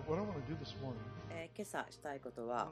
今朝したいことは、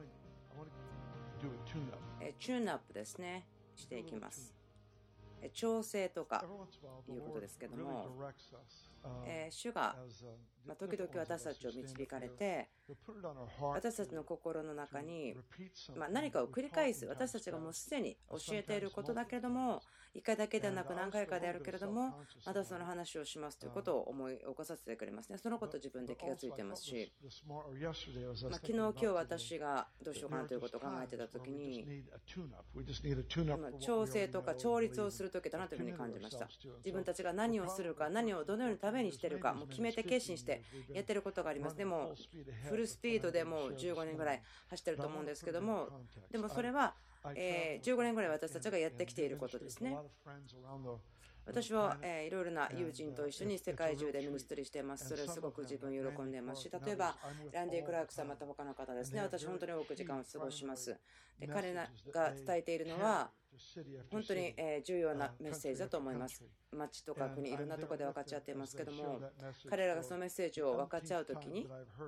チューンアップですね、していきます。調整とかいうことですけども、主が時々私たちを導かれて、私たちの心の中に何かを繰り返す、私たちがもうすでに教えていることだけれども、1回だけではなく何回かであるけれども、またその話をしますということを思い起こさせてくれますね。そのことを自分で気がついていますし、昨日、今日私がどうしようかなということを考えていたときに、調整とか調律をするときだなというふうに感じました。自分たちが何をするか、何をどのようにためにしているか、もう決めて決心してやっていることがあります。でもフルスピードでもう15年ぐらい走ってると思うんですけども、でもそれは15年ぐらい私たちがやってきていることですね。私はいろいろな友人と一緒に世界中でミニストリーしています。それすごく自分喜んでいますし、例えばランディ・クラークさん、また他の方ですね、私本当に多く時間を過ごします。で、彼らが伝えているのは本当に重要なメッセージだと思います。町とか国、いろんなところで分かち合っていますけども、彼らがそのメッセージを分かち合うときに、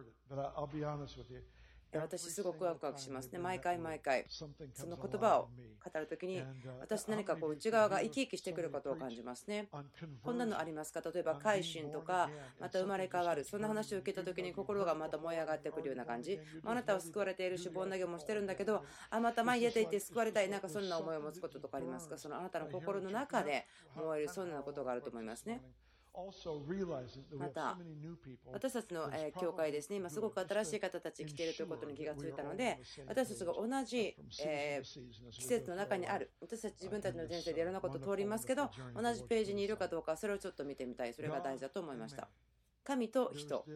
私すごくワクワクしますね。毎回その言葉を語るときに、私何か内側が生き生きしてくることを感じますね。こんなのありますか？例えば改心とか、また生まれ変わる、そんな話を受けたときに心がまた燃え上がってくるような感じ。あなたは救われているし、盆投げもしてるんだけど、また前に出ていって救われたい、なんかそんな思いを持つこととかありますか？そのあなたの心の中で燃える、そんなことがあると思いますね。また私たちの教会ですね、今すごく新しい方たち来ているということに気がついたので、私たちが同じ季節の中にある、私たち自分たちの人生でいろんなことを通りますけど、同じページにいるかどうか、それをちょっと見てみたい。それが大事だと思いました。神と人、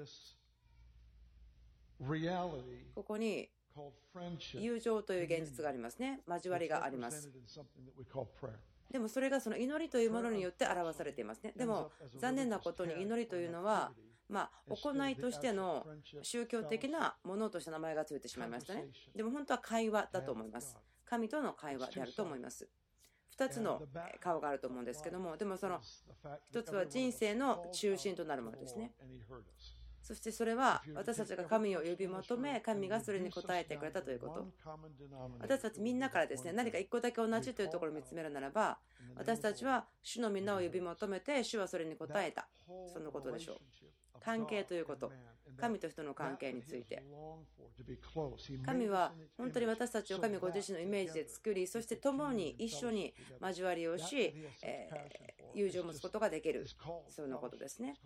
ここに友情という現実がありますね。交わりがあります。でもそれがその祈りというものによって表されていますね。でも残念なことに祈りというのは行いとしての宗教的なものとして名前がついてしまいましたね。でも本当は会話だと思います。神との会話であると思います。2つの顔があると思うんですけども、でもその1つは人生の中心となるものですね。そしてそれは私たちが神を呼び求め、神がそれに応えてくれたということ。私たちみんなからですね、何か1個だけ同じというところを見つめるならば、私たちは主の皆を呼び求めて、主はそれに応えた。そのことでしょう。関係ということ、神と人の関係について、神は本当に私たちを神ご自身のイメージで作り、そして共に一緒に交わりをし、友情を持つことができる、そのことですね。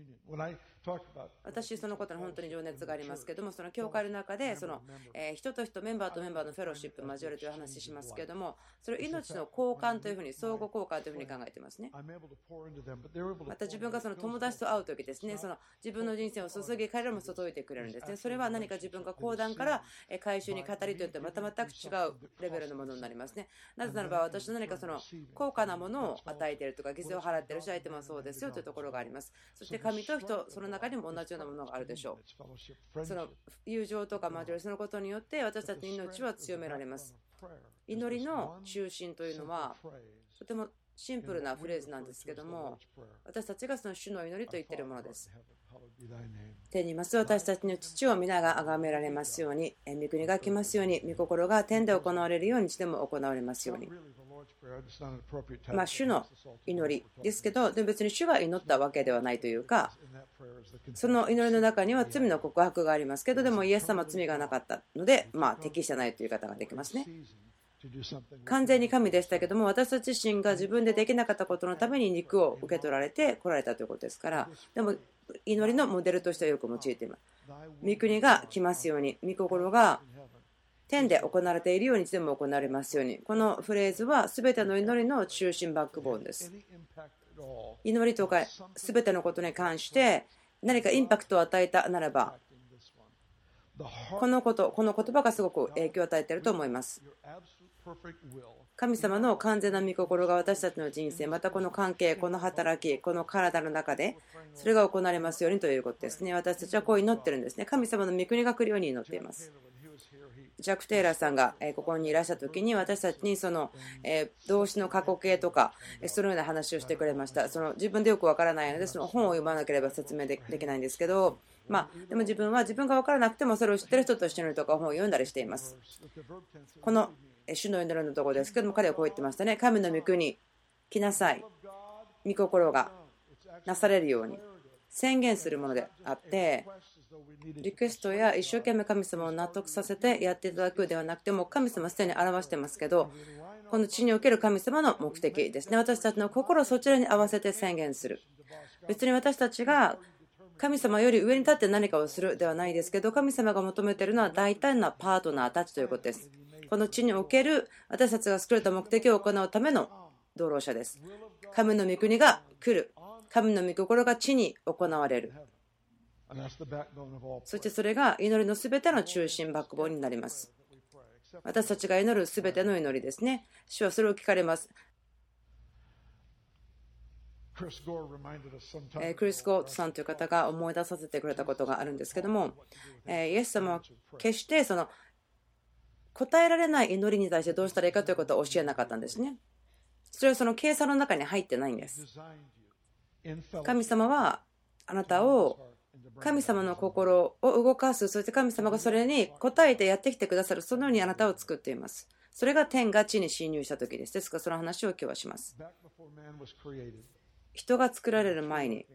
私そのことに本当に情熱がありますけども、その教会の中でその人と人、メンバーとメンバーのフェローシップ交わるという話しますけれども、それを命の交換というふうに、相互交換というふうに考えていますね。また自分がその友達と会うときですね、その自分の人生を注ぎ、彼らも注いでくれるんですね。それは何か自分が講談から回収に語りといってまた全く違うレベルのものになりますね。なぜならば私の何かその高価なものを与えているとか、犠牲を払っているし、相手もそうですよというところがあります。そして神と人、その中にも同じようなものがあるでしょう。その友情とか交わり、そのことによって私たちの命は強められます。祈りの中心というのはとてもシンプルなフレーズなんですけども、私たちがその主の祈りと言っているものです。天にいます私たちの父を皆が崇められますように、御国が来ますように、御心が天で行われるように、地でも行われますように。主の祈りですけど、でも別に主が祈ったわけではないというか、その祈りの中には罪の告白がありますけど、でもイエス様は罪がなかったので、適してないという言い方ができますね。完全に神でしたけども、私たち自身が自分でできなかったことのために肉を受け取られて来られたということですから、でも祈りのモデルとしてはよく用いています。御国が来ますように、御心が天で行われているように地でも行われますように。このフレーズは全ての祈りの中心バックボーンです。祈りとか全てのことに関して何かインパクトを与えたならば、この言葉がすごく影響を与えていると思います。神様の完全な御心が私たちの人生、またこの関係、この働き、この体の中でそれが行われますようにということですね。私たちはこう祈ってるんですね。神様の御国が来るように祈っています。 ジャック・テイラーさんがここにいらした時に私たちにその動詞の過去形とかそのような話をしてくれました。その自分でよくわからないのでその本を読まなければ説明できないんですけど、でも自分は自分が分からなくてもそれを知ってる人と一緒にとか本を読んだりしています。この主の祈りのところですけども、彼はこう言ってましたね。神の御国来なさい、御心がなされるように宣言するものであって、リクエストや一生懸命神様を納得させてやっていただくではなくて、も神様はすでに表してますけど、この地における神様の目的ですね。私たちの心をそちらに合わせて宣言する。別に私たちが神様より上に立って何かをするではないですけど、神様が求めているのは大胆なパートナーたちということです。この地における私たちが作られた目的を行うための道路者です。神の御国が来る。神の御心が地に行われる。そしてそれが祈りのすべての中心、バックボーンになります。私たちが祈るすべての祈りですね。主はそれを聞かれます。クリス・ゴートさんという方が思い出させてくれたことがあるんですけども、イエス様は決してその答えられない祈りに対してどうしたらいいかということを教えなかったんですね。それはその計算の中に入ってないんです。神様はあなたを神様の心を動かす、そして神様がそれに応えてやってきてくださる、そのようにあなたを作っています。それが天が地に侵入した時です。ですからその話を今日はします。人が作られる前に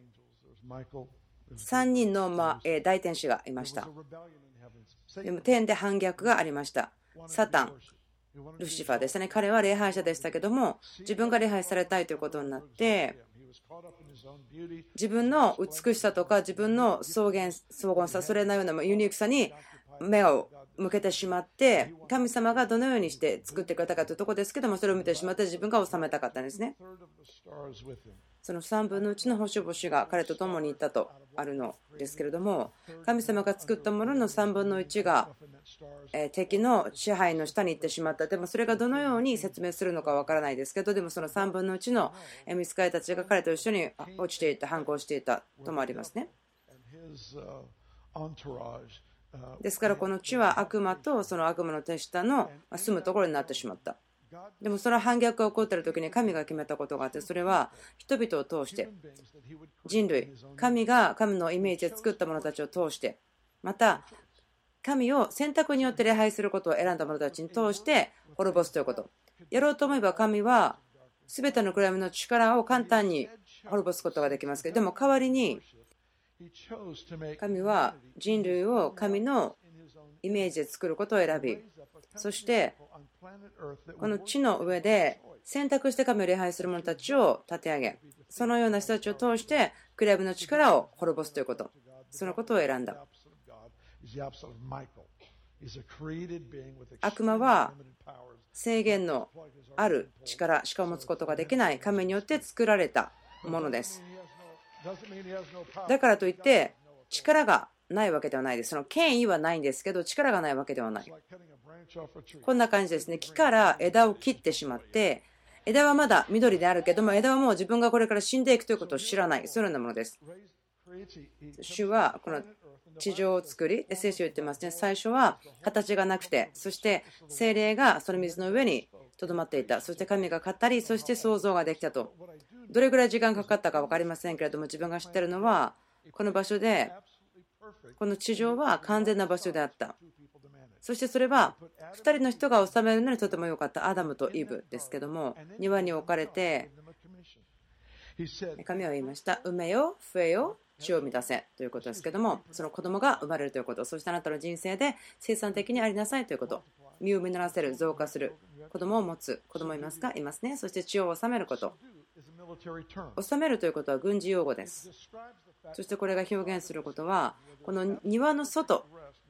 3人の大天使がいました。でも天で反逆がありました。サタン、ルシファーですね。彼は礼拝者でしたけども、自分が礼拝されたいということになって、自分の美しさとか自分の荘厳さ、それのようなユニークさに目を向けてしまって、神様がどのようにして作ってくれたかというところですけども、それを見てしまって自分が治めたかったんですね。その3分の1の星々が彼と共にいたとあるのですけれども、神様が作ったものの3分の1が敵の支配の下に行ってしまった。でもそれがどのように説明するのかわからないですけど、でもその3分の1の御使いたちが彼と一緒に落ちていた、反抗していたともありますね。ですからこの地は悪魔とその悪魔の手下の住むところになってしまった。でもその反逆が起こっている時に神が決めたことがあって、それは人々を通して人類、神が神のイメージで作った者たちを通して、また神を選択によって礼拝することを選んだ者たちに通して滅ぼすということ。やろうと思えば神は全ての暗闇の力を簡単に滅ぼすことができますけど、でも代わりに神は人類を神のイメージで作ることを選び、そしてこの地の上で選択して神を礼拝する者たちを立て上げ、そのような人たちを通して暗闇の力を滅ぼすということ、そのことを選んだ。悪魔は制限のある力しか持つことができない神によって作られたものです。だからといって力がないわけではないです。その権威はないんですけど力がないわけではない。こんな感じですね。木から枝を切ってしまって、枝はまだ緑であるけども、枝はもう自分がこれから死んでいくということを知らない、そういうようなものです。主はこの地上を作り、聖書を言ってますね。最初は形がなくて、そして精霊がその水の上にとどまっていた。そして神が語り、そして創造ができたと。どれぐらい時間かかったか分かりませんけれども、自分が知っているのはこの場所で、この地上は完全な場所であった。そしてそれは2人の人が治めるのにとても良かったアダムとイブですけども、庭に置かれて神は言いました。産めよ、増えよ、地を満たせということですけども、その子供が生まれるということ、そしてあなたの人生で生産的にありなさいということ、身を実らせる、増加する、子供を持つ、子供いますか？いますね。そして地を治めること、治めるということは軍事用語です。そしてこれが表現することはこの庭の外、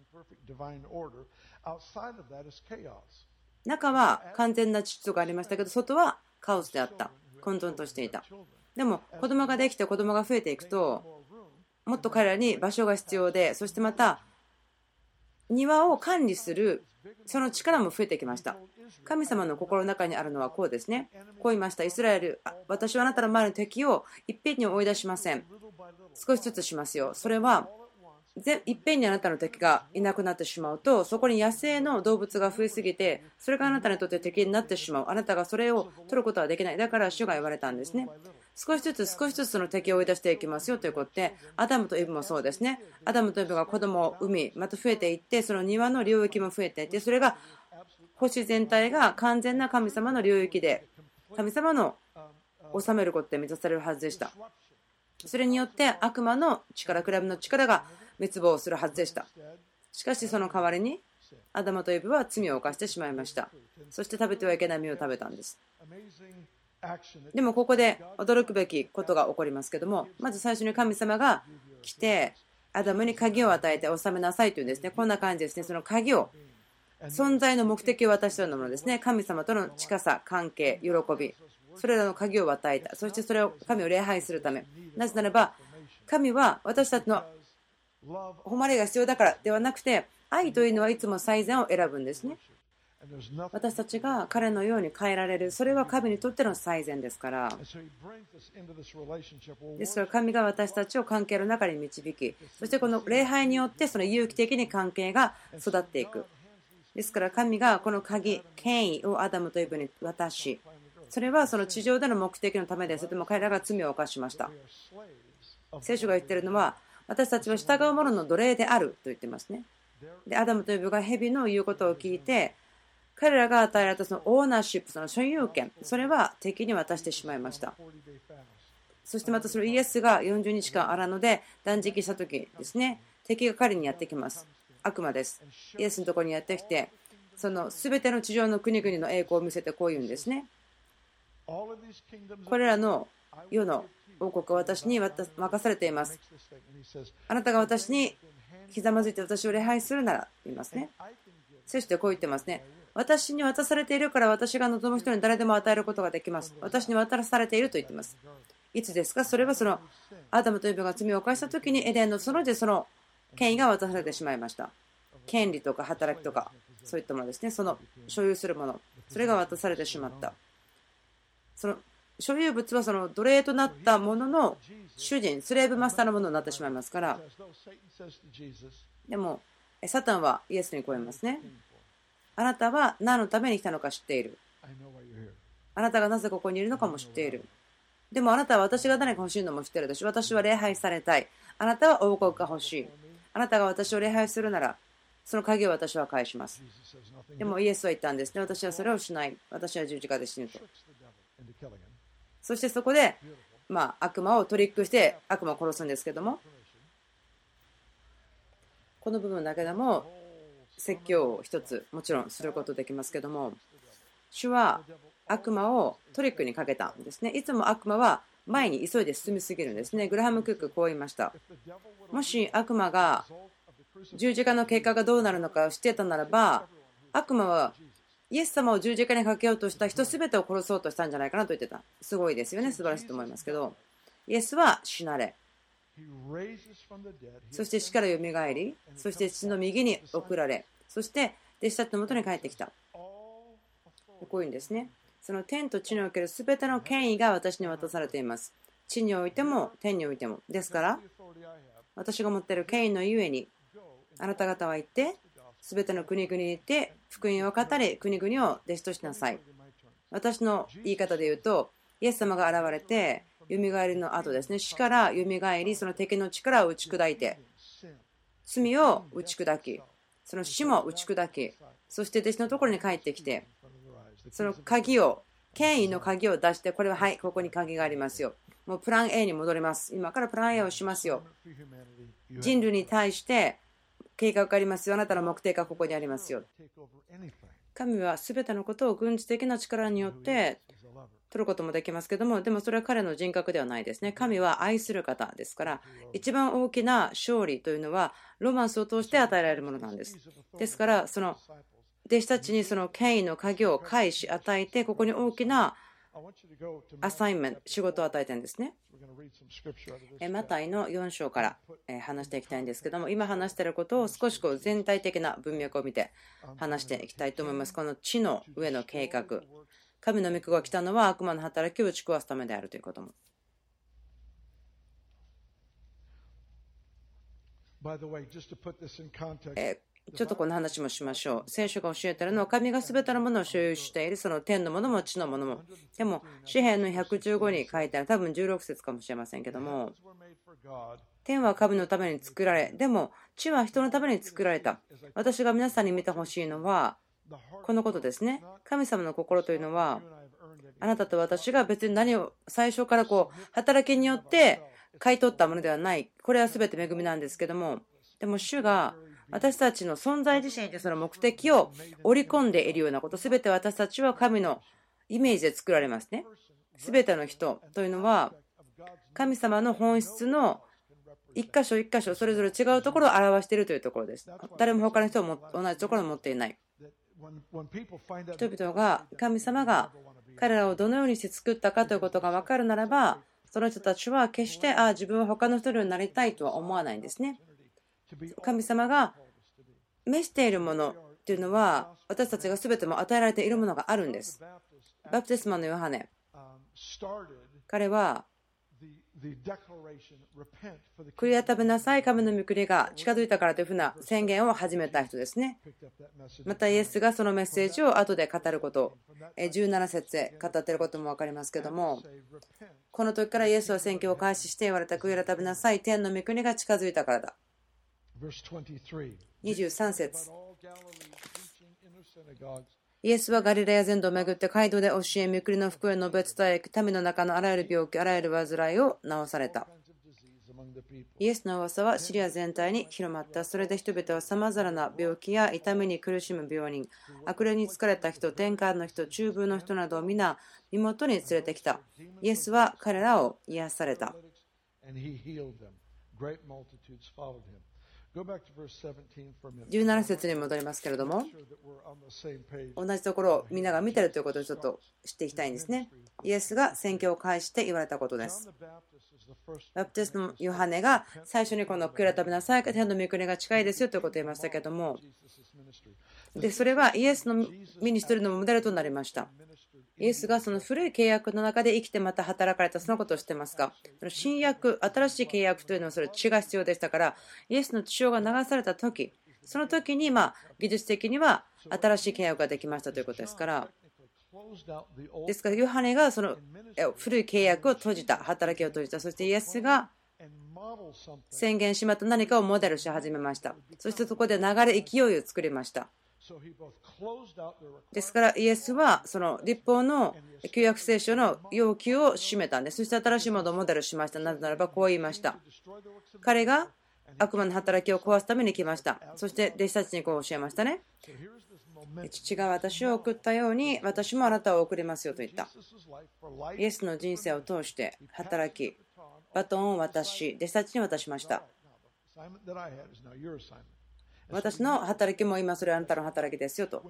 中は完全な秩序がありましたけど、外はカオスであった、混沌としていた。でも子供ができて子供が増えていくと、もっと彼らに場所が必要で、そしてまた庭を管理するその力も増えてきました。神様の心の中にあるのはこうですね。こう言いました。イスラエル、私はあなたの前の敵をいっぺんに追い出しません。少しずつしますよ。それはいっぺんにあなたの敵がいなくなってしまうと、そこに野生の動物が増えすぎて、それがあなたにとって敵になってしまう。あなたがそれを取ることはできない。だから主が言われたんですね。少しずつその敵を追い出していきますよということで、アダムとイブもそうですね。アダムとイブが子供を産み、また増えていって、その庭の領域も増えていって、それが星全体が完全な神様の領域で、神様の治めることで満たされるはずでした。それによって悪魔の力、クラブの力が滅亡するはずでした。しかしその代わりにアダムとイブは罪を犯してしまいました。そして食べてはいけない実を食べたんです。でもここで驚くべきことが起こりますけども、まず最初に神様が来てアダムに鍵を与えて治めなさいというんですね。こんな感じですね。その鍵を、存在の目的を渡したようなものですね。神様との近さ、関係、喜び、それらの鍵を与えた。そしてそれを神を礼拝するため。なぜならば神は私たちの誉れが必要だからではなくて、愛というのはいつも最善を選ぶんですね。私たちが彼のように変えられる、それは神にとっての最善ですから。ですから神が私たちを関係の中に導き、そしてこの礼拝によってその有機的に関係が育っていく。ですから神がこの鍵、権威をアダムとイブに渡し、それはその地上での目的のためです。でも彼らが罪を犯しました。聖書が言っているのは、私たちは従う者の奴隷であると言ってますね。でアダムとイブが蛇の言うことを聞いて、彼らが与えられたそのオーナーシップ、その所有権、それは敵に渡してしまいました。そしてまたそのイエスが40日間荒野で断食した時ですね、敵が彼にやってきます。悪魔です。イエスのところにやってきて、その全ての地上の国々の栄光を見せてこう言うんですね。これらの世の王国は私に任されています。あなたが私にひざまずいて私を礼拝するなら言いますね。そしてこう言ってますね。私に渡されているから私が望む人に誰でも与えることができます。私に渡されていると言っています。いつですか？それはそのアダムとイブが罪を犯した時にエデンの園でその権威が渡されてしまいました。権利とか働きとかそういったものですね。その所有するもの、それが渡されてしまった。その所有物はその奴隷となったものの主人、スレーブマスターのものになってしまいますから。でもサタンはイエスにこう言いますね。あなたは何のために来たのか知っている。あなたがなぜここにいるのかも知っている。でもあなたは私が何か欲しいのも知っているでしょ。私は礼拝されたい。あなたは王国が欲しい。あなたが私を礼拝するならその鍵を私は返します。でもイエスは言ったんですね。私はそれをしない。私は十字架で死ぬと。そしてそこで、悪魔をトリックして悪魔を殺すんですけども、この部分だけでも説教を一つもちろんすることできますけども、主は悪魔をトリックにかけたんですね。いつも悪魔は前に急いで進みすぎるんですね。グラハム・クックこう言いました。もし悪魔が十字架の結果がどうなるのかを知っていたならば、悪魔はイエス様を十字架にかけようとした人すべてを殺そうとしたんじゃないかなと言ってた。すごいですよね。素晴らしいと思いますけど、イエスは死なれ、そして死からよみがえり、そして父の右に送られ、そして弟子たちのもとに帰ってきた。こういうんですね。その天と地におけるすべての権威が私に渡されています。地においても天においても。ですから私が持っている権威のゆえに、あなた方は行ってすべての国々に行って福音を語り、国々を弟子としなさい。私の言い方で言うと、イエス様が現れてよみがえりの後ですね、死からよみがえり、その敵の力を打ち砕いて、罪を打ち砕き、その死も打ち砕き、そして弟子のところに帰ってきて、その鍵を、権威の鍵を出して、これははい、ここに鍵がありますよ。もうプラン A に戻ります。今からプラン A をしますよ。人類に対して計画がありますよ。あなたの目的がここにありますよ。神は全てのことを軍事的な力によって取ることもできますけども、でもそれは彼の人格ではないですね。神は愛する方ですから、一番大きな勝利というのはロマンスを通して与えられるものなんです。ですからその弟子たちにその権威の鍵を返し与えて、ここに大きなアサインメント、仕事を与えてるんですね。マタイの4章から話していきたいんですけども、今話していることを少し全体的な文脈を見て話していきたいと思います。この地の上の計画、神の御子が来たのは悪魔の働きを打ち壊すためであるということも。 ちょっとこの話もしましょう。聖書が教えているのは、神が全てのものを所有している、その天のものも地のものも。でも、詩篇の115に書いてある、多分16節かもしれませんけども、天は神のために作られ、でも地は人のために作られた。私が皆さんに見てほしいのは、このことですね。神様の心というのは、あなたと私が別に何を最初から働きによって買い取ったものではない。これは全て恵みなんですけども、でも主が私たちの存在自身にその目的を織り込んでいるようなこと、全て私たちは神のイメージで作られますね。全ての人というのは神様の本質の一箇所一箇所それぞれ違うところを表しているというところです。誰も他の人も同じところを持っていない。人々が神様が彼らをどのようにして作ったかということが分かるならば、その人たちは決して自分は他の人になりたいとは思わないんですね。神様が召しているものというのは、私たちが全ても与えられているものがあるんです。バプテスマのヨハネ、彼は悔い改めなさい、神の御国が近づいたからというふうな宣言を始めた人ですね。またイエスがそのメッセージを後で語ること、17節へ語っていることも分かりますけども、この時からイエスは宣教を開始して言われた、悔い改めなさい、天の御国が近づいたからだ。23節、イエスはガリラヤ全土を巡って街道で教え、御国の福音を述べ伝え、民の中のあらゆる病気、あらゆる患いを治された。イエスの噂はシリア全体に広まった。それで人々はさまざまな病気や痛みに苦しむ病人、悪霊に疲れた人、天下の人、中風の人などを皆身元に連れてきた。イエスは彼らを癒された。17節に戻りますけれども、同じところをみんなが見ているということをちょっと知っていきたいんですね。イエスが宣教を開して言われたことです。バプテスのヨハネが最初にこの悔い改めなさい、天の御国が近いですよということを言いましたけれども、でそれはイエスのミニストリーのモデルとなりました。イエスがその古い契約の中で生きてまた働かれたそのことを知ってますか？新約、新しい契約というのはそれ血が必要でしたから、イエスの血潮が流された時、その時に技術的には新しい契約ができましたということですから、ですからヨハネがその古い契約を閉じた、働きを閉じた、そしてイエスが宣言しまった何かをモデルし始めました。そしてそこで流れ、勢いを作りました。ですからイエスはその律法の旧約聖書の要求を締めたんです。そして新しいものをモデルしました。なぜならばこう言いました。彼が悪魔の働きを壊すために来ました。そして弟子たちにこう教えましたね。父が私を送ったように私もあなたを送りますよと言った。イエスの人生を通して働き、バトンを渡し、弟子たちに渡しました。私の働きも今それはあなたの働きですよと。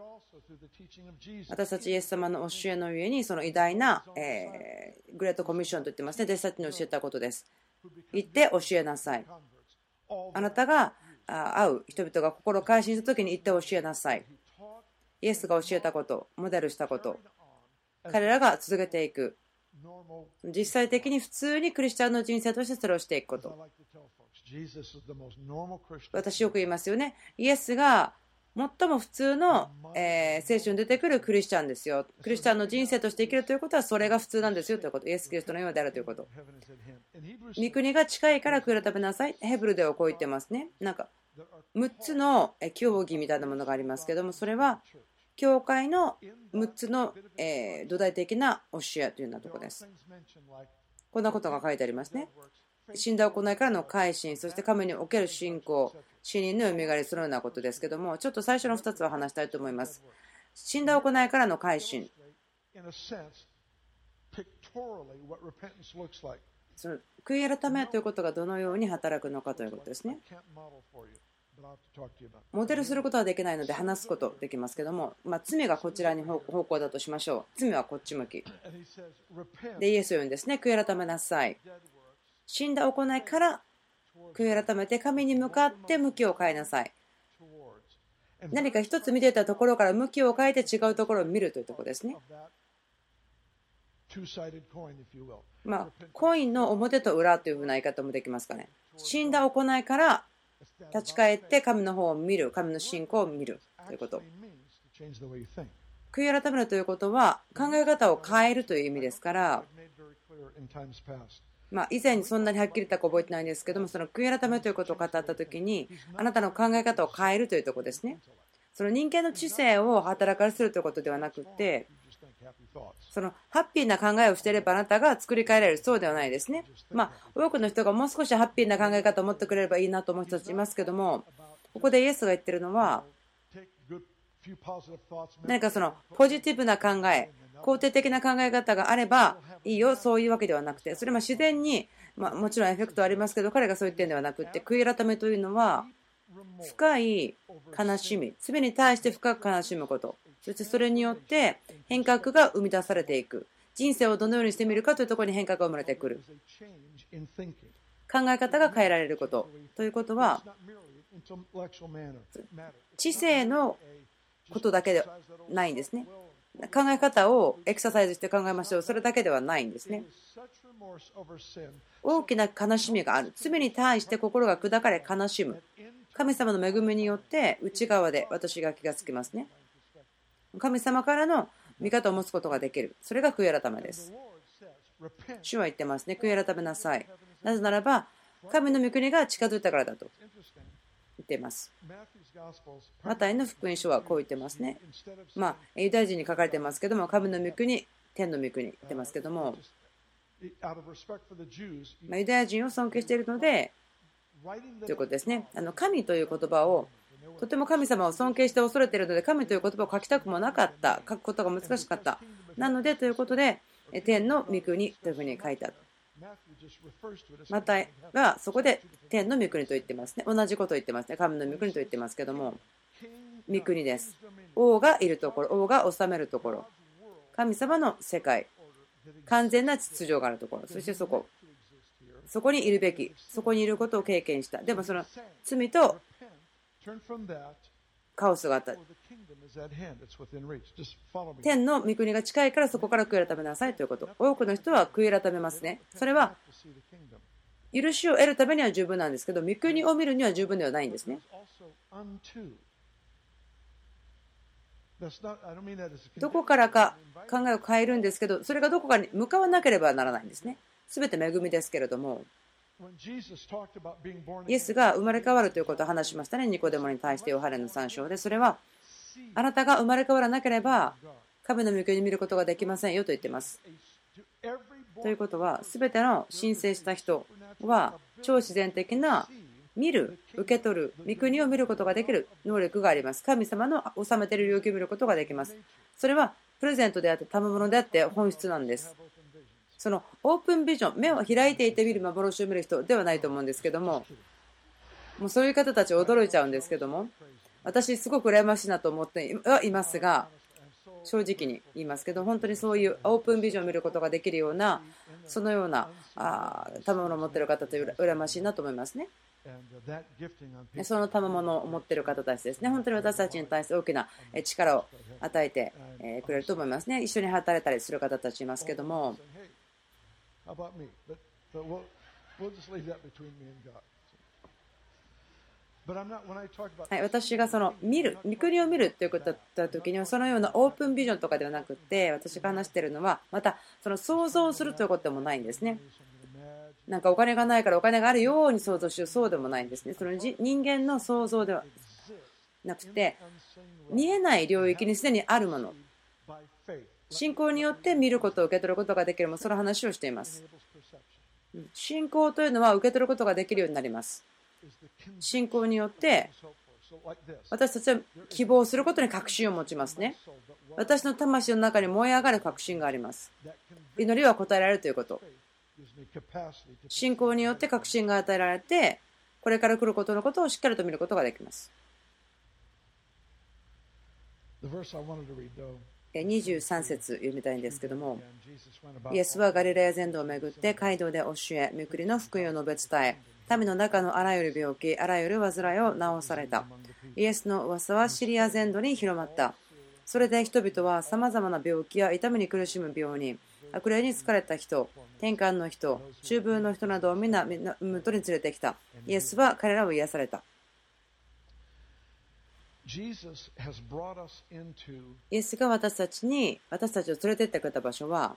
私たちイエス様の教えの上にその偉大なグレートコミッションと言ってますね。弟子たちに教えたことです。行って教えなさい。あなたが会う人々が心を改心した時に行って教えなさい。イエスが教えたこと、モデルしたこと、彼らが続けていく。実際的に普通にクリスチャンの人生としてそれをしていくこと。私よく言いますよね。イエスが最も普通の聖書に出てくるクリスチャンですよ。クリスチャンの人生として生きるということはそれが普通なんですよということ。イエス・キリストのようであるということ。御国が近いから悔い改めなさい。ヘブルではこう言ってますね。なんか6つの教義みたいなものがありますけども、それは教会の6つの土台的な教えというようなところです。こんなことが書いてありますね。死んだ行いからの改心、そして神における信仰、死人のよみがえり、そのようなことですけども、ちょっと最初の2つは話したいと思います。死んだ行いからの改心。その悔い改めということがどのように働くのかということですね。モデルすることはできないので話すことできますけども、罪がこちらに方向だとしましょう。罪はこっち向きで、イエスを言うんですね。悔い改めなさい。死んだ行いから悔い改めて神に向かって向きを変えなさい。何か一つ見ていたところから向きを変えて違うところを見るというところですね。コインの表と裏というふうな言い方もできますかね。死んだ行いから立ち返って神の方を見る、神の信仰を見るということ。悔い改めるということは考え方を変えるという意味ですから、以前にそんなにはっきり言ったか覚えてないんですけども、その悔い改めということを語ったときに、あなたの考え方を変えるというところですね。その人間の知性を働かせるということではなくて、そのハッピーな考えをしていればあなたが作り変えられる、そうではないですね。多くの人がもう少しハッピーな考え方を持ってくれればいいなと思う人たちいますけども、ここでイエスが言ってるのは、何かそのポジティブな考え、肯定的な考え方があればいいよ、そういうわけではなくて、それは自然に、もちろんエフェクトはありますけど、彼がそう言ってるんではなくて、悔い改めというのは深い悲しみ、罪に対して深く悲しむこと、そしてそれによって変革が生み出されていく、人生をどのようにしてみるかというところに変革が生まれてくる、考え方が変えられることということは、知性のことだけでないんですね。考え方をエクササイズして考えましょう、それだけではないんですね。大きな悲しみがある、罪に対して心が砕かれ悲しむ、神様の恵みによって内側で私が気がつきますね。神様からの見方を持つことができる、それが悔い改めです。主は言ってますね、悔い改めなさい、なぜならば神の御国が近づいたからだと言っています。マタイの福音書はこう言ってますね。ユダヤ人に書かれてますけども、神の御国、天の御国言ってますけども、ユダヤ人を尊敬しているのでということですね。神という言葉をとても神様を尊敬して恐れているので、神という言葉を書きたくもなかった、書くことが難しかった。なのでということで、天の御国というふうに書いた。マタイはそこで天の御国と言ってますね。同じことを言ってますね。神の御国と言ってますけども、御国です。王がいるところ、王が治めるところ、神様の世界、完全な秩序があるところ、そしてそこにいるべき、そこにいることを経験した。でもその罪とカオスがあった。天の御国が近いからそこから悔い改めなさいということ。多くの人は悔い改めますね。それは許しを得るためには十分なんですけど、御国を見るには十分ではないんですね。どこからか考えを変えるんですけど、それがどこかに向かわなければならないんですね。すべて恵みですけれども、イエスが生まれ変わるということを話しましたね。ニコデモに対してヨハネの3章で、それはあなたが生まれ変わらなければ神の御国を見ることができませんよと言っています。ということは、すべての申請した人は超自然的な見る、受け取る、御国を見ることができる能力があります。神様の治めている領域を見ることができます。それはプレゼントであって賜物であって本質なんです。そのオープンビジョン、目を開いていて見る幻を見る人ではないと思うんですけども、もうそういう方たち驚いちゃうんですけども、私すごく羨ましいなと思ってはいますが、正直に言いますけど、本当にそういうオープンビジョンを見ることができるような、そのような賜物を持っている方と羨ましいなと思いますね。その賜物を持っている方たちですね。本当に私たちに対して大きな力を与えてくれると思いますね。一緒に働いたりする方たちいますけども、私がその見る、御国を見るということだった時には、そのようなオープンビジョンとかではなくて、私が話しているのはまたその想像するということでもないんですね。なんかお金がないからお金があるように想像しよう、そうでもないんですね。その人間の想像ではなくて、見えない領域にすでにあるもの、信仰によって見ることを受け取ることができるもの、その話をしています。信仰というのは受け取ることができるようになります。信仰によって私たちは希望することに確信を持ちますね。私の魂の中に燃え上がる確信があります。祈りは答えられるということ。信仰によって確信が与えられて、これから来ることのことをしっかりと見ることができます。23節読みたいんですけども、イエスはガリラヤ全土を巡って街道で教え、御国の福音を述べ伝え、民の中のあらゆる病気、あらゆる患いを治された。イエスの噂はシリア全土に広まった。それで人々はさまざまな病気や痛みに苦しむ病人、悪霊に疲れた人、天官の人、中風の人などを皆元に連れてきた。イエスは彼らを癒された。 イエスが私たちを連れてってくれた場所は、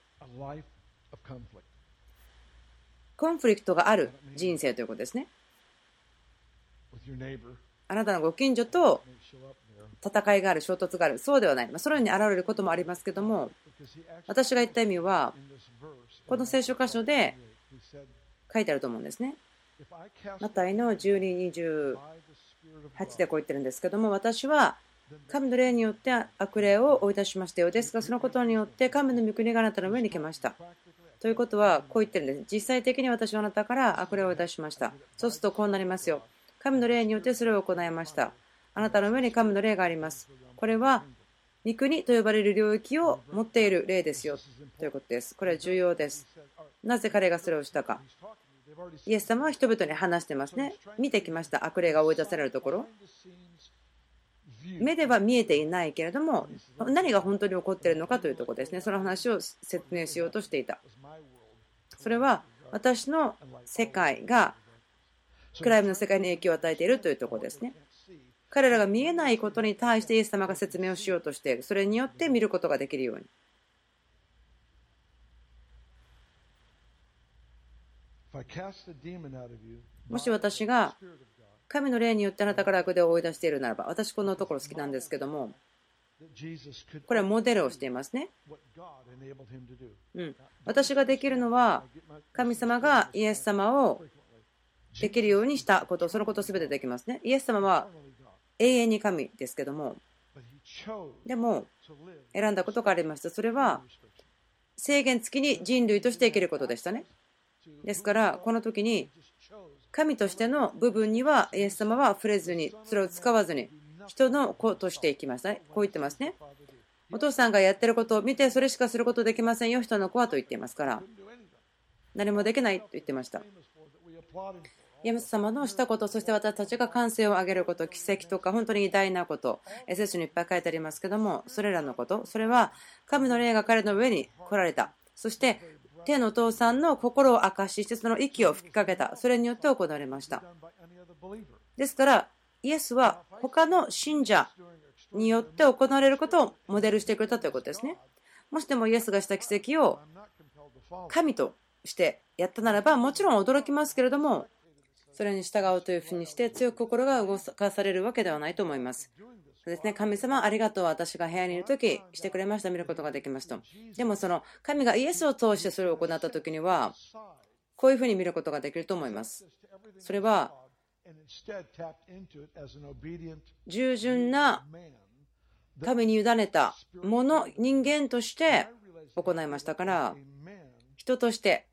コンフリクトがある人生ということですね。あなたのご近所と戦いがある、衝突がある、そうではない。そのように現れることもありますけども、私が言った意味は、この聖書箇所で書いてあると思うんですね。マタイの12:28でこう言ってるんですけども、私は神の霊によって悪霊を追い出しましたよ。ですが、そのことによって神の御国があなたの上に来ました。ということは、こう言ってるんです。実際的に私はあなたから悪霊を追い出しました。そうするとこうなりますよ。神の霊によってそれを行いました。あなたの上に神の霊があります。これは御国と呼ばれる領域を持っている霊ですよということです。これは重要です。なぜ彼がそれをしたか。イエス様は人々に話してますね。見てきました。悪霊が追い出されるところ。目では見えていないけれども、何が本当に起こっているのかというところですね。その話を説明しようとしていた。それは私の世界が暗闇の世界に影響を与えているというところですね。彼らが見えないことに対してイエス様が説明をしようとしている。それによって見ることができるように。もし私が神の霊によってあなたから悪霊を追い出しているならば、私このところ好きなんですけども、これはモデルをしていますね。私ができるのは、神様がイエス様をできるようにしたこと、そのことすべてできますね。イエス様は永遠に神ですけども、でも選んだことがありました。それは制限付きに人類として生きることでしたね。ですからこの時に神としての部分にはイエス様は触れずに、それを使わずに人の子としていきましたね。こう言ってますね。お父さんがやってることを見てそれしかすることできませんよ、人の子はと言っていますから、何もできないと言ってました。イエス様のしたこと、そして私たちが歓声を上げること、奇跡とか本当に偉大なこと、聖書にいっぱい書いてありますけども、それらのこと、それは神の霊が彼の上に来られた。そして天のお父さんの心を明かしして、その息を吹きかけた。それによって行われました。ですからイエスは他の信者によって行われることをモデルしてくれたということですね。もしでもイエスがした奇跡を神としてやったならば、もちろん驚きますけれども、それに従うというふうにして強く心が動かされるわけではないと思います。そうですね、神様ありがとう、私が部屋にいるときしてくれました、見ることができますと。でもその神がイエスを通してそれを行ったときには、こういうふうに見ることができると思います。それは従順な神に委ねたもの、人間として行いましたから、人として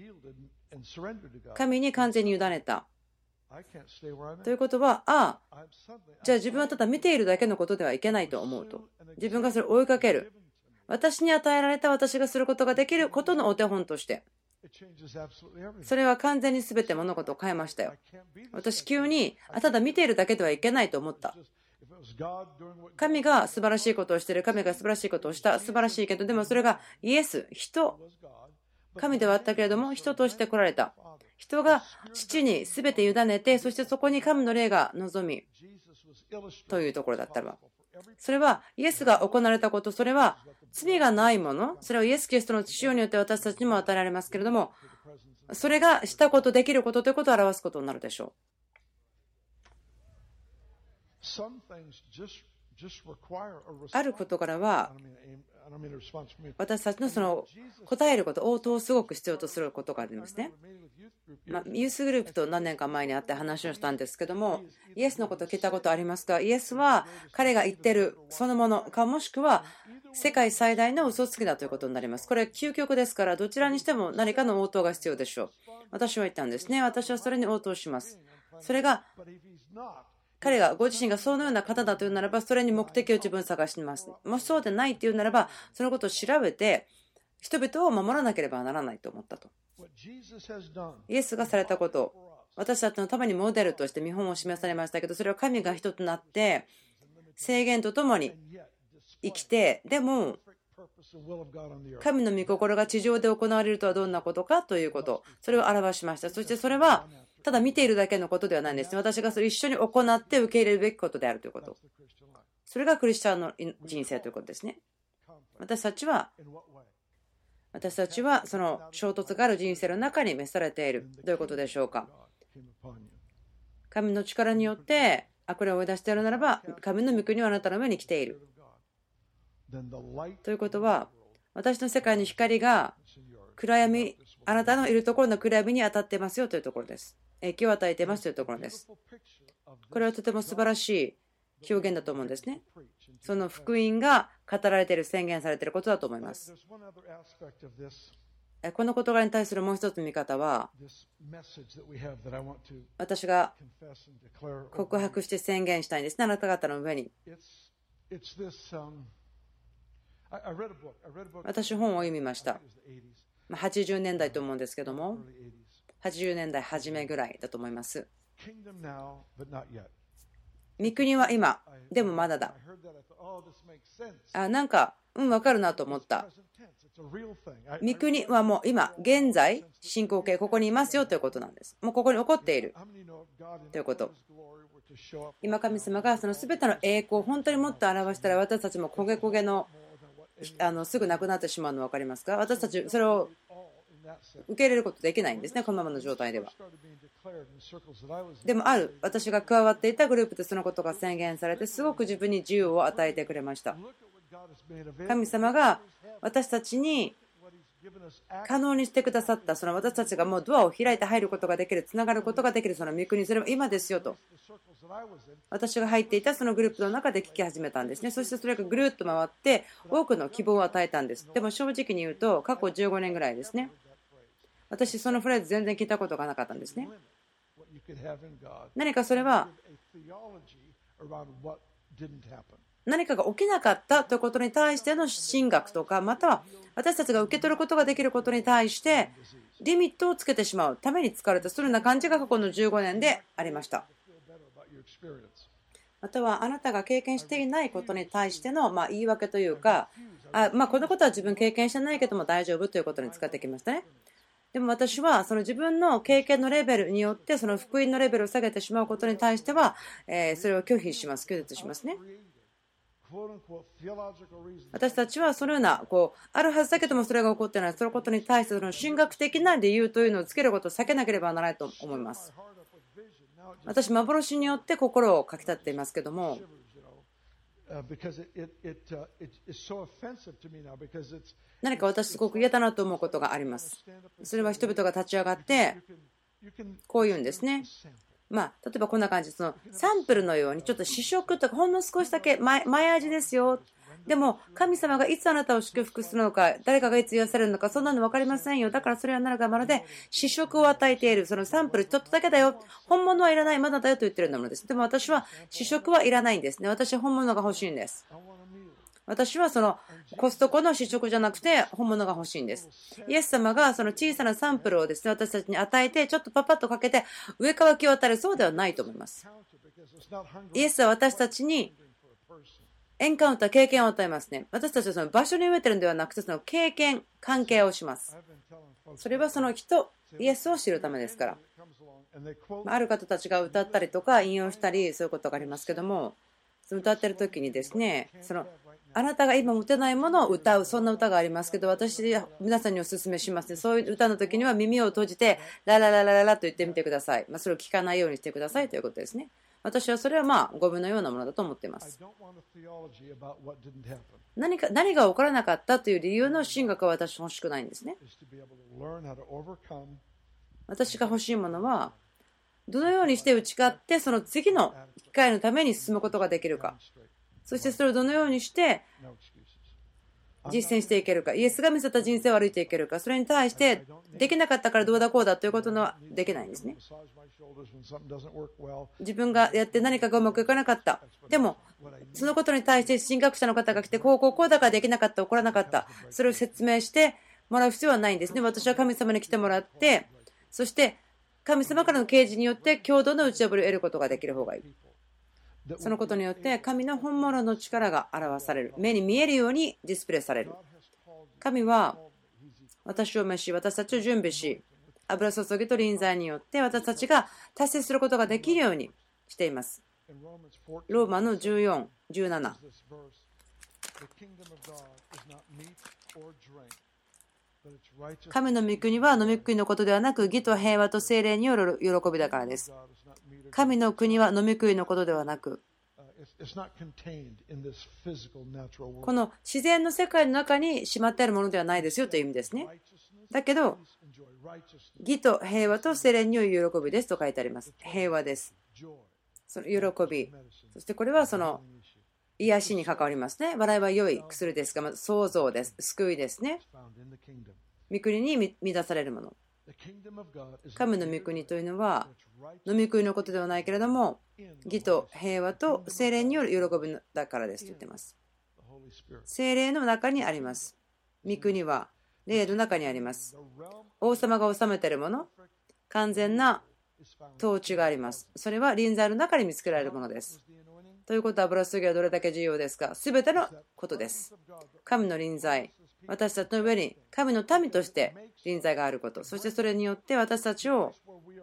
神に完全に委ねたということは、じゃあ自分はただ見ているだけのことではいけないと思うと、自分がそれを追いかける、私に与えられた私がすることができることのお手本として、それは完全に全て物事を変えましたよ。私急にただ見ているだけではいけないと思った。神が素晴らしいことをしている、神が素晴らしいことをした、素晴らしいけど、でもそれがイエス、人、神ではあったけれども人として来られた。人が父に全て委ねて、そしてそこに神の霊が望みというところだったら、それはイエスが行われたこと、それは罪がないもの、それをイエス・キリストの血潮によって私たちにも与えられますけれども、それがしたこと、できることということを表すことになるでしょう。ある事柄は私たちのその答えること応答をすごく必要とすることがありますね。ユースグループと何年か前に会って話をしたんですけども、イエスのことを聞いたことありますか？イエスは彼が言ってるそのものか、もしくは世界最大の嘘つきだということになります。これは究極ですから、どちらにしても何かの応答が必要でしょう。私は言ったんですね。私はそれに応答します。それが彼がご自身がそのような方だというならば、それに目的を自分探します。もしそうでないというならば、そのことを調べて人々を守らなければならないと思ったと。イエスがされたこと、私たちのためにモデルとして見本を示されましたけど、それは神が人となって制限とともに生きて、でも神の御心が地上で行われるとはどんなことかということ、それを表しました。そしてそれはただ見ているだけのことではないんですね。私がそれを一緒に行って受け入れるべきことであるということ。それがクリスチャンの人生ということですね。私たちはその衝突がある人生の中に召されている。どういうことでしょうか。神の力によって悪霊を追い出しているならば、神の御国はあなたの上に来ている。ということは、私の世界の光が暗闇、あなたのいるところの暗闇に当たっていますよというところです。影響を与えていますというところです。これはとても素晴らしい表現だと思うんですね。その福音が語られている、宣言されていることだと思います。この事柄に対するもう一つの見方は、私が告白して宣言したいんですね、あなた方の上に。私、本を読みました。80年代と思うんですけども、80年代初めぐらいだと思います。御国は今、でもまだだ。なんか、分かるなと思った。御国はもう今、現在、進行形、ここにいますよということなんです。もうここに起こっているということ。今、神様がその全ての栄光を本当にもっと表したら、私たちも焦げ焦げのすぐなくなってしまうの分かりますか。私たち、それを受け入れることできないんですね、このままの状態では。でも私が加わっていたグループでそのことが宣言されて、すごく自分に自由を与えてくれました。神様が私たちに可能にしてくださった、その私たちがもうドアを開いて入ることができる、つながることができる、その御国、それも今ですよと、私が入っていたそのグループの中で聞き始めたんですね。そしてそれがぐるっと回って多くの希望を与えたんです。でも正直に言うと、過去15年ぐらいですね、私そのフレーズ全然聞いたことがなかったんですね。何かそれは何かが起きなかったということに対しての神学とか、または私たちが受け取ることができることに対してリミットをつけてしまうために使われた、そのような感じが過去の15年でありました。またはあなたが経験していないことに対しての言い訳というか、このことは自分経験してないけども大丈夫ということに使ってきましたね。でも私はその自分の経験のレベルによってその福音のレベルを下げてしまうことに対してはそれを拒否します、拒絶しますね。私たちはそのようなあるはずだけどもそれが起こっていない、そのことに対しての神学的な理由というのをつけることを避けなければならないと思います。私、幻によって心をかきたっていますけども、何か私すごく嫌だなと思うことがあります。それは人々が立ち上がってこう言うんですね。例えばこんな感じ、そのサンプルのようにちょっと試食とかほんの少しだけ前味ですよ。でも神様がいつあなたを祝福するのか、誰かがいつ癒されるのか、そんなの分かりませんよ。だからそれはなるがまるで試食を与えている、そのサンプルちょっとだけだよ、本物はいらない、まだだよと言っているようなものです。でも私は試食はいらないんですね。私は本物が欲しいんです。私はそのコストコの試食じゃなくて本物が欲しいんです。イエス様がその小さなサンプルをですね、私たちに与えてちょっとパパッとかけて上から気を与える、そうではないと思います。イエスは私たちにエンカウンター、経験を与えますね。私たちはその場所に植えてるんではなくて、その経験、関係をします。それはその人、イエスを知るためですから。ある方たちが歌ったりとか引用したり、そういうことがありますけども、その歌ってる時にですね、あなたが今持てないものを歌う、そんな歌がありますけど、私皆さんにお勧めしますね。そういう歌の時には耳を閉じてララララララと言ってみてください。それを聞かないようにしてくださいということですね。私はそれはゴミのようなものだと思っています。何が起こらなかったという理由の神学は私欲しくないんですね。私が欲しいものはどのようにして打ち勝ってその次の機会のために進むことができるか、そしてそれをどのようにして実践していけるか、イエスが見せた人生を歩いていけるか、それに対してできなかったからどうだこうだということはできないんですね。自分がやって何かがうまくいかなかった、でもそのことに対して神学者の方が来てこうだからできなかった、起こらなかった、それを説明してもらう必要はないんですね。私は神様に来てもらって、そして神様からの啓示によって共同の打ち破りを得ることができる方がいい。そのことによって神の本物の力が表される、目に見えるようにディスプレイされる。神は私を召し、私たちを準備し、 油注ぎと臨在によって私たちが達成することができるようにしています。ローマの14、17。神の御国は飲み食いのことではなく、義と平和と聖霊による喜びだからです。神の国は飲み食いのことではなく、この自然の世界の中にしまってあるものではないですよという意味ですね。だけど、義と平和と聖霊による喜びですと書いてあります。平和です。その喜び。そしてこれはその癒しに関わりますね。笑いは良い薬ですが、まず創造です。救いですね。御国に満たされるもの。神の御国というのは飲み食いのことではないけれども、義と平和と聖霊による喜びだからですと言っています。聖霊の中にあります。御国は霊の中にあります。王様が治めているもの、完全な統治があります。それは臨在の中に見つけられるものです。ということは、油注ぎはどれだけ重要ですか？すべてのことです。神の臨在、私たちの上に神の民として臨在があること、そしてそれによって私たちを、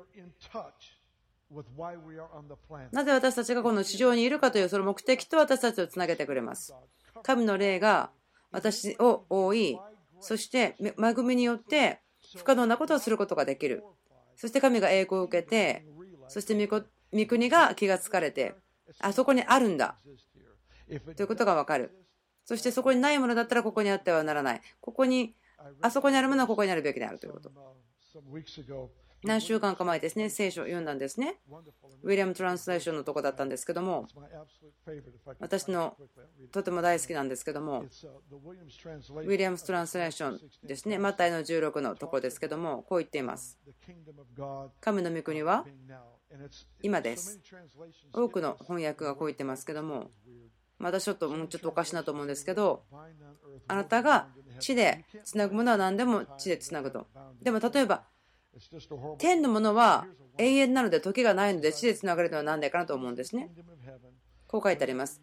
なぜ私たちがこの地上にいるかというその目的と私たちをつなげてくれます。神の霊が私を覆い、そして恵みによって不可能なことをすることができる。そして神が栄光を受けて、そして御国が気がつかれて、あそこにあるんだということが分かる。そしてそこにないものだったらここにあってはならない。あそこにあるものはここにあるべきであるということ。何週間か前ですね、聖書を読んだんですね。ウィリアム・トランスレーションのとこだったんですけども、私のとても大好きなんですけども、ウィリアムス・トランスレーションですね、マタイの16のところですけども、こう言っています。神の御国は今です。多くの翻訳がこう言ってますけども、私ちょっとおかしいなと思うんですけど、あなたが地でつなぐものは何でも地でつなぐと。でも例えば天のものは永遠なので時がないので地でつながれるのは何でかなと思うんですね。こう書いてあります。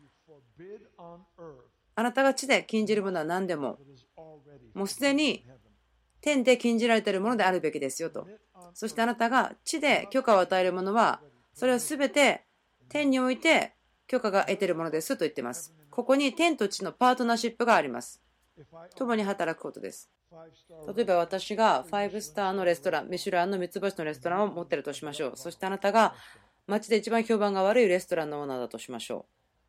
あなたが地で禁じるものは何でももうすでに天で禁じられているものであるべきですよと。そしてあなたが地で許可を与えるものはそれは全て天において許可が得ているものですと言っています。ここに天と地のパートナーシップがあります。共に働くことです。例えば私が5スターのレストラン、ミシュランの3つ星のレストランを持っているとしましょう。そしてあなたが街で一番評判が悪いレストランのオーナーだとしましょ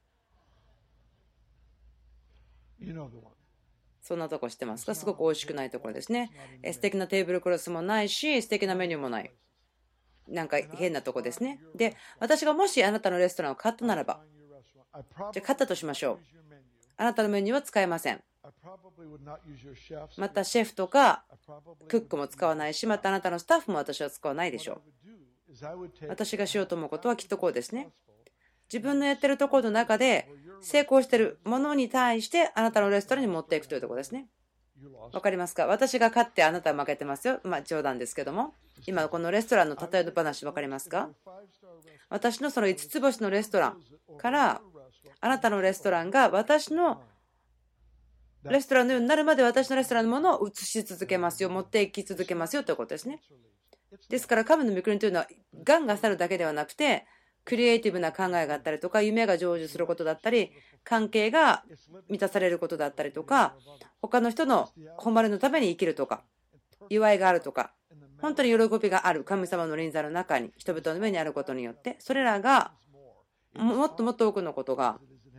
う。そんなとこ知ってますか？すごく美味しくないところですね。素敵なテーブルクロスもないし、素敵なメニューもない。なんか変なとこですね。で、私がもしあなたのレストランを買ったならば、じゃあ買ったとしましょう。あなたのメニューは使えません。またシェフとかクックも使わないし、またあなたのスタッフも私は使わないでしょう。私がしようと思うことはきっとこうですね。自分のやってるところの中で成功しているものに対してあなたのレストランに持っていくというところですね。わかりますか？私が勝ってあなたは負けてますよ。冗談ですけども、今このレストランの例えの話わかりますか？私のその5つ星のレストランからあなたのレストランが私のレストランのようになるまで私のレストランのものを移し続けますよ、持っていき続けますよということですね。ですから神の御国というのは願が去るだけではなくて、クリエイティブな考えがあったりとか、夢が成就することだったり、関係が満たされることだったりとか、他の人の誉れのために生きるとか、祝いがあるとか、本当に喜びがある神様の臨在の中に人々の上にあることによって、それらがもっともっと多くのことが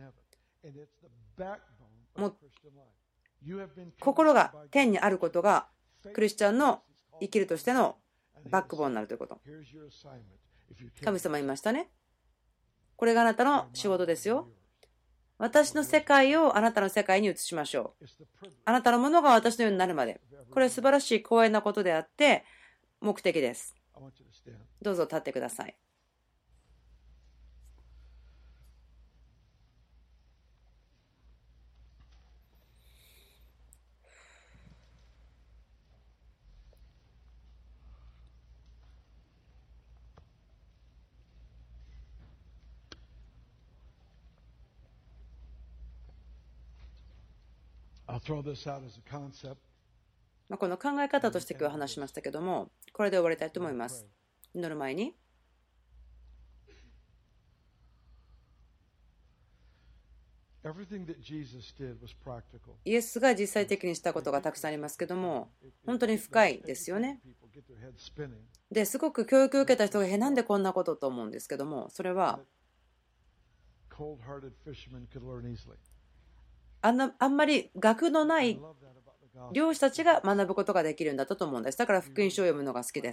心が天にあることがクリスチャンの生きるとしてのバックボーンになるということ。神様言いましたね。これがあなたの仕事ですよ。私の世界をあなたの世界に移しましょう。あなたのものが私のようになるまで。これは素晴らしい光栄なことであって目的です。どうぞ立ってください。 I'll throw this out as a concept. この考え方として今日話しましたけども、これで終わりたいと思います。祈る前に、イエスが実際的にしたことがたくさんありますけども、本当に深いですよね。ですごく教育を受けた人がなんでこんなことと思うんですけども、それはあんまり学のない漁師たちが学ぶことができるんだと思うんです。だから福音書を読むのが好きです。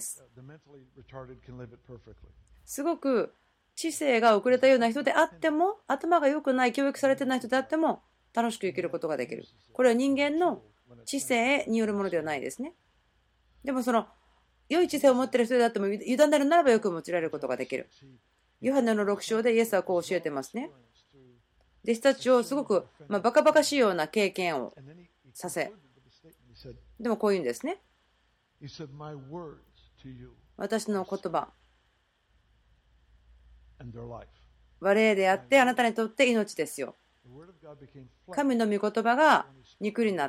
すごく知性が遅れたような人であっても、頭が良くない、教育されてない人であっても楽しく生きることができる。これは人間の知性によるものではないですね。でもその良い知性を持っている人であっても委ねるならばよく用いられることができる。ヨハネの6章でイエスはこう教えてますね。弟子たちをすごくバカバカしいような経験をさせ、でもこう言うんですね。私の言葉は霊であってあなたにとって命ですよ。神の御言葉が肉になって、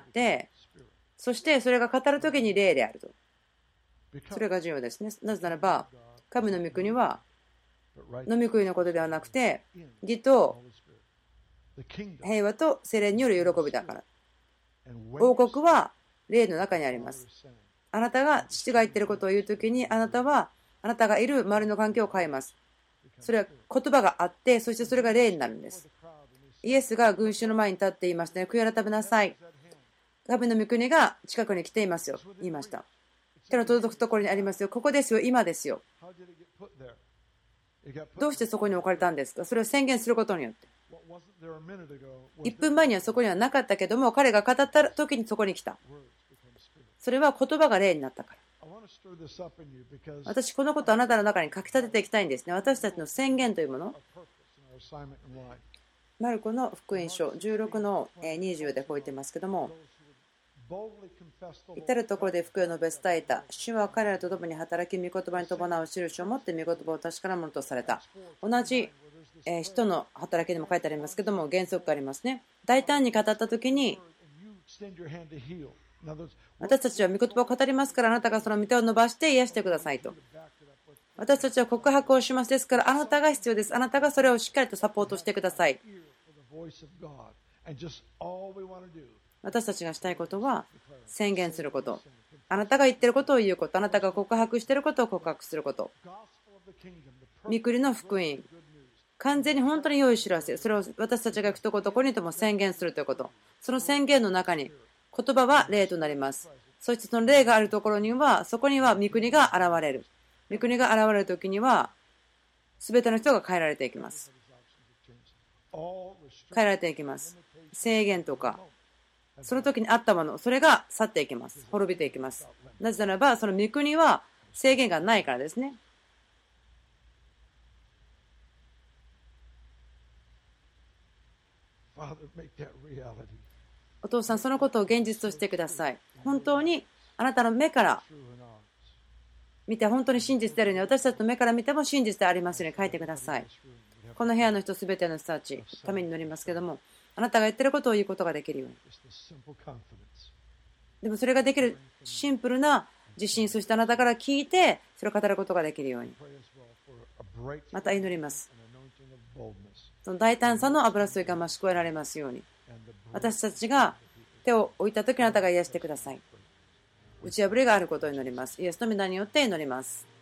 そしてそれが語るときに霊であると。それが重要ですね。なぜならば神の御国は飲み食いのことではなくて、義と平和と聖霊による喜びだから。王国は霊の中にあります。あなたが父が言っていることを言うときに、あなたはあなたがいる周りの環境を変えます。それは言葉があって、そしてそれが霊になるんです。イエスが群衆の前に立って言いましたね。悔い改めなさい。神の御国が近くに来ていますよ。言いました。手の届くところにありますよ。ここですよ。今ですよ。どうしてそこに置かれたんですか。それを宣言することによって。1分前にはそこにはなかったけども、彼が語った時にそこに来た。それは言葉が霊になったから。私、このことをあなたの中に書き立てていきたいんですね。私たちの宣言というもの。マルコの福音書16の20でこう言ってますけども、至るところで福音を述べ伝えた。主は彼らと共に働き、御言葉に伴う印を持って御言葉を確かなものとされた。同じ人の働きにも書いてありますけども、原則がありますね。大胆に語ったときに、私たちは御言葉を語りますから、あなたがその御手を伸ばして癒してくださいと。私たちは告白をします。ですから、あなたが必要です。あなたがそれをしっかりとサポートしてください。私たちがしたいことは宣言すること。あなたが言っていることを言うこと。あなたが告白していることを告白すること。御国の福音。完全に本当に良い知らせ。それを私たちが行くところどこにとも宣言するということ。その宣言の中に言葉は霊となります。そしてその霊があるところには、そこには御国が現れる。御国が現れるときには、すべての人が変えられていきます。変えられていきます。制限とか、その時にあったもの、それが去っていきます。滅びていきます。なぜならば、その御国は制限がないからですね。お父さん、そのことを現実としてください。本当にあなたの目から見て本当に真実であるように、私たちの目から見ても真実でありますように書いてください。この部屋の人すべての人たちために祈りますけども、あなたが言っていることを言うことができるように。でもそれができるシンプルな自信、そしてあなたから聞いてそれを語ることができるように。また祈ります。その大胆さの油注ぎが増し加えられますように。私たちが手を置いたとき、あなたが癒してください。打ち破りがあることを祈ります。イエスの御名によって祈ります。